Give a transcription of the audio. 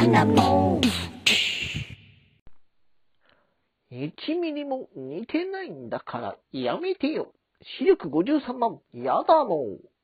1ミリも似てないんだからやめてよ。視力53万、やだもん。